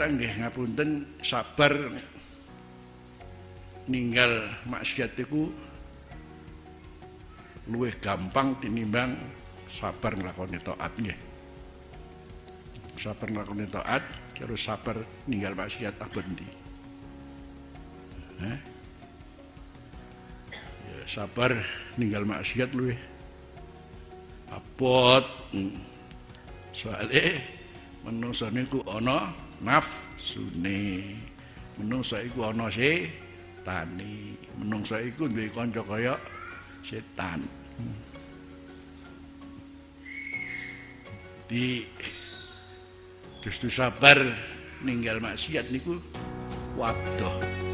nggih ngapunten sabar ninggal maksiat iku luwih gampang tinimbang sabar nglakoni taat nggih. Sabar nglakoni taat karo sabar ninggal maksiat abot ndi? Ya, sabar ninggal maksiat luwih abot. Soale menungsa niku ana nafsune. Menungsa iku ana setane. Menungsa iku duwe kanca kaya setan. Di justru sabar ninggal maksiat niku waduh